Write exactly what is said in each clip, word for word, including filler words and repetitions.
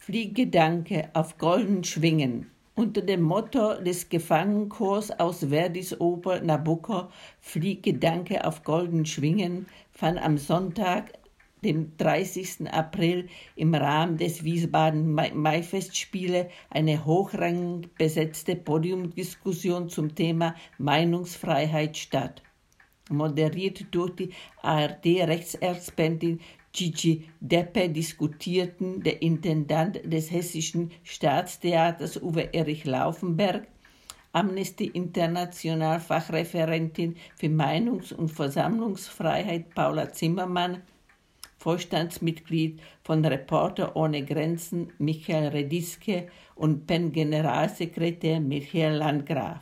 Fliehgedanke auf golden Schwingen. Unter dem Motto des Gefangenchors aus Verdis Oper Nabucco Fliehgedanke auf golden Schwingen fand am Sonntag, dem dreißigsten April, im Rahmen des Wiesbaden Maifestspiele eine hochrangig besetzte Podiumdiskussion zum Thema Meinungsfreiheit statt. Moderiert durch die A R D-Rechtsexpertin Gigi Deppe diskutierten der Intendant des Hessischen Staatstheaters Uwe Erich Laufenberg, Amnesty International Fachreferentin für Meinungs- und Versammlungsfreiheit Paula Zimmermann, Vorstandsmitglied von Reporter ohne Grenzen Michael Rediske und P E N-Generalsekretär Michael Landgraf.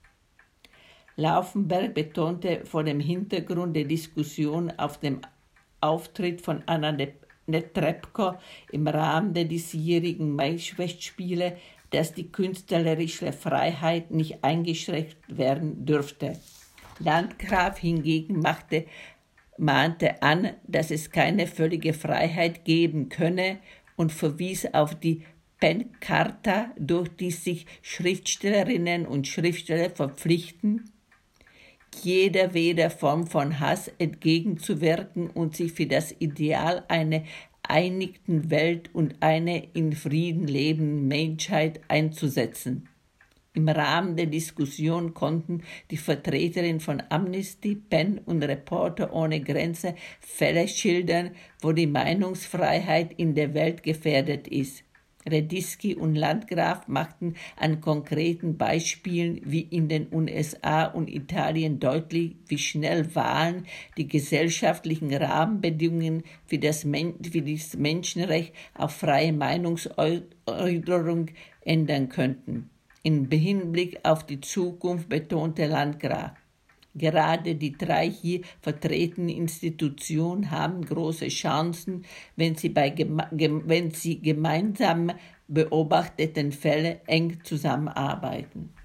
Laufenberg betonte vor dem Hintergrund der Diskussion auf dem Auftritt von Anna Netrebko im Rahmen der diesjährigen Maifestspiele, dass die künstlerische Freiheit nicht eingeschränkt werden dürfte. Landgraf hingegen machte, mahnte an, dass es keine völlige Freiheit geben könne und verwies auf die P E N-Charta, durch die sich Schriftstellerinnen und Schriftsteller verpflichten, jeder weder Form von Hass entgegenzuwirken und sich für das Ideal einer einigten Welt und einer in Frieden lebenden Menschheit einzusetzen. Im Rahmen der Diskussion konnten die Vertreterinnen von Amnesty, P E N und Reporter ohne Grenzen Fälle schildern, wo die Meinungsfreiheit in der Welt gefährdet ist. Rediski und Landgraf machten an konkreten Beispielen wie in den U S A und Italien deutlich, wie schnell Wahlen die gesellschaftlichen Rahmenbedingungen für das, Men- für das Menschenrecht auf freie Meinungsäußerung ändern könnten. Im Hinblick auf die Zukunft betonte Landgraf: Gerade die drei hier vertretenen Institutionen haben große Chancen, wenn sie bei geme- gem- wenn sie gemeinsam beobachteten Fällen eng zusammenarbeiten.